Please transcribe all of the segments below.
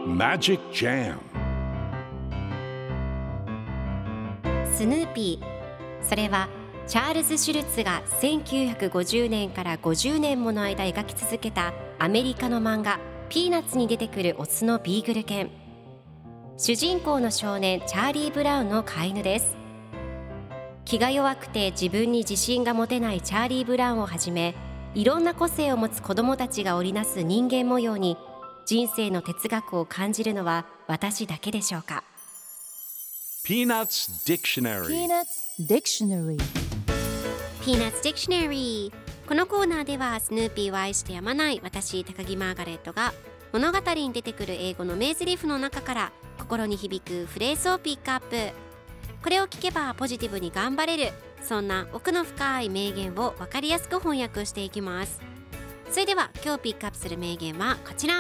Magic Jam スヌーピー、それはチャールズ・シュルツが1950年から50年もの間描き続けたアメリカの漫画ピーナッツに出てくるオスのビーグル犬。主人公の少年チャーリー・ブラウンの飼い犬です。気が弱くて自分に自信が持てないチャーリー・ブラウンをはじめ、いろんな個性を持つ子どもたちが織りなす人間模様に人生の哲学を感じるのは私だけでしょうか。 Peanuts Dictionary Peanuts Dictionary Peanuts Dictionary。 このコーナーではスヌーピーを愛してやまない私高木マーガレットが物語に出てくる英語の名台詞の中から心に響くフレーズをピックアップ。これを聞けばポジティブに頑張れる、そんな奥の深い名言を分かりやすく翻訳していきます。それでは今日ピックアップする名言はこちら。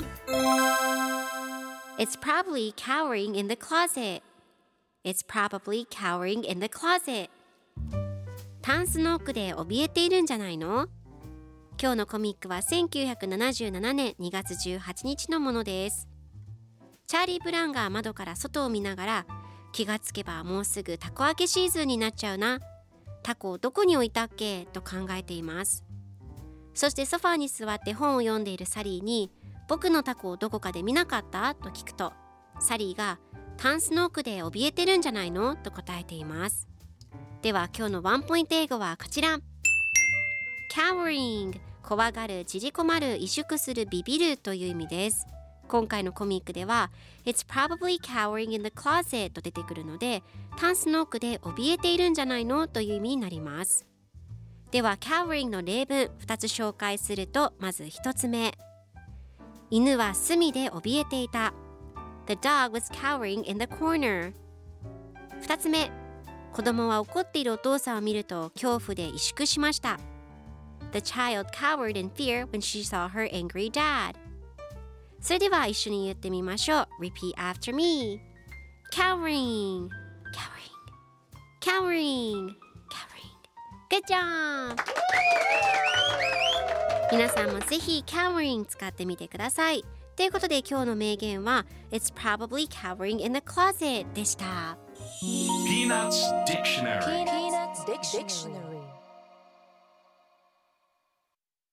It's probably cowering in the closet. It's probably cowering in the closet. タンスの奥で怯えているんじゃないの？今日のコミックは1977年2月18日のものです。チャーリー・ブラウンが窓から外を見ながら、気がつけばもうすぐタコ開けシーズンになっちゃうな、タコをどこに置いたっけと考えています。そしてソファーに座って本を読んでいるサリーに、僕のタコをどこかで見なかったと聞くと、サリーがタンスの奥で怯えてるんじゃないのと答えています。では今日のワンポイント英語はこちら。 Cowering、 怖がる、縮こまる、萎縮する、ビビるという意味です。今回のコミックでは It's probably cowering in the closet と出てくるので、タンスの奥で怯えているんじゃないのという意味になります。では cowering の例文2つ紹介すると、まず1つ目、犬は隅で怯えていた。 The dog was cowering in the corner。 2つ目、子供は怒っているお父さんを見ると恐怖で萎縮しました。 The child cowered in fear when she saw her angry dad。 それでは一緒に言ってみましょう。 Repeat after me。 Cowering Cowering Cowering Cowering。 Good job。 皆さんもぜひ Cowering 使ってみてください。ということで今日の名言は It's probably cowering in the closet でした。 Peanuts Dictionary Peanuts Dictionary